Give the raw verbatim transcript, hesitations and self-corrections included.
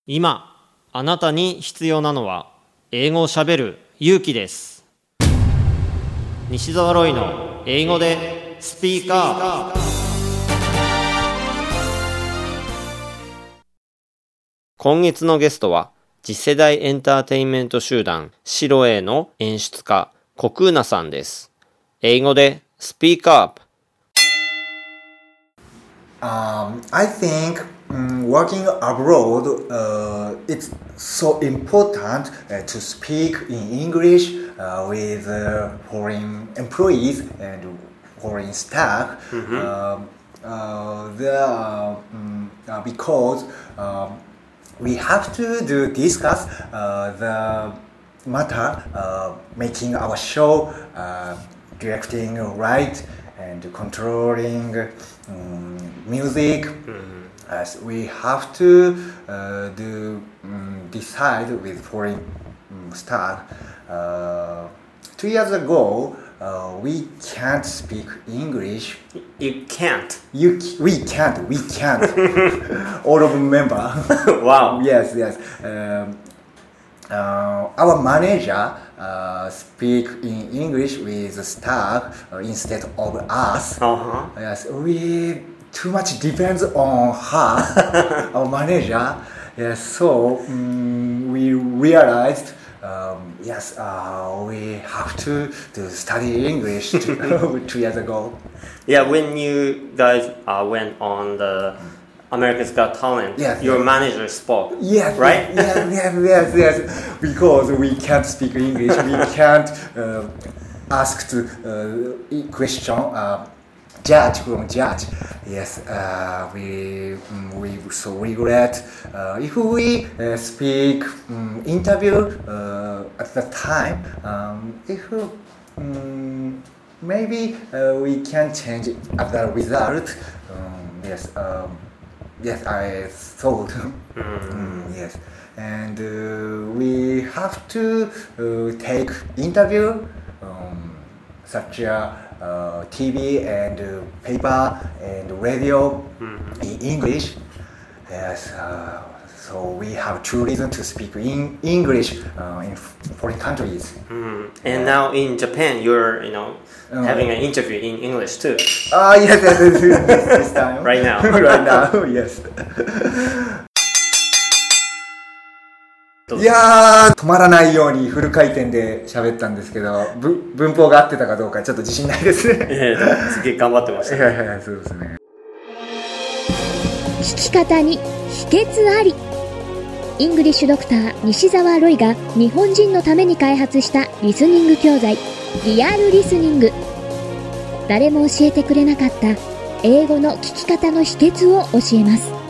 今あなたに必要なのは英語をしゃべる勇気です。西澤ロイの英語でスピーカー。今月のゲストは次世代エンターテインメント集団シロエの演出家コクーナさんです。英語でスピーカー。 Um, I think um, working abroad, uh, it's so important uh, to speak in English uh, with uh, foreign employees and foreign staff. Mm-hmm. uh, uh, there, uh, um, uh, because um, we have to do discuss uh, the matter, uh, making our show, uh, directing, right, and controlling um, music. Mm-hmm. As we have to uh, do um, decide with foreign um, staff. Uh, two years ago, uh, we can't speak English. You can't. You we can't. We can't. All of them member. Wow. Yes, yes. Um, uh, our manager uh, speak in English with the staff uh, instead of us. Uh-huh. Yes, we too much depends on her, our manager. Yes, so um, we realized. Um, yes, uh, we have to, to study English two, two years ago. Yeah, when you guys uh, went on the America's Got Talent, yes, your yes. manager spoke, yes, right? Yes, yes, yes, yes. Because we can't speak English, we can't uh, ask to uh, question. Uh, Judge from judge, yes. Uh, we we so regret uh, if we uh, speak um, interview uh, at the time. Um, if um, maybe uh, we can change at the result. Um, yes, um, yes. I thought. Mm. um, yes, and uh, we have to uh, take interview um, such a. Uh, T V and uh, paper and radio mm-hmm. in English. Yes, uh, so we have two reasons to speak in English uh, in foreign countries. Mm. And uh, now in Japan, you're you know uh, having an interview in English too. Ah, uh, yes, yes, yes, this time. Right now. Right now, yes. いやー止まらないようにフル回転で喋ったんですけど文法が合ってたかどうかちょっと自信ないですね。 いやいやすげえ頑張ってました、ね、 いやいやいやそうですね。 聞き方に秘訣あり。イングリッシュドクター西澤ロイが日本人のために開発したリスニング教材リアルリスニング。誰も教えてくれなかった英語の聞き方の秘訣を教えます。